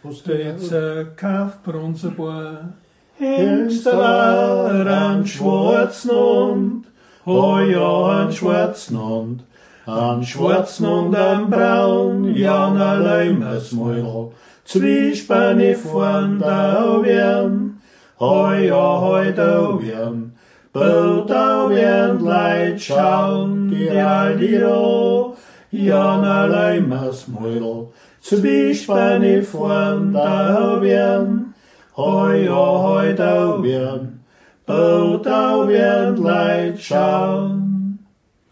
Steeds Kaff Bronzebohr. Hengsteler an Schwarznund, oh ja, an Schwarznund am Braun, Jan allein es Mäuel, Zwiespanne von da werden, oh ja, heute werden, bald da werden Leid schauen, die Aldiro, Jan allein es Mäuel, Zwiespanne von da werden, hoi, oh, hoi, da werden, bald da werden Leid schauen.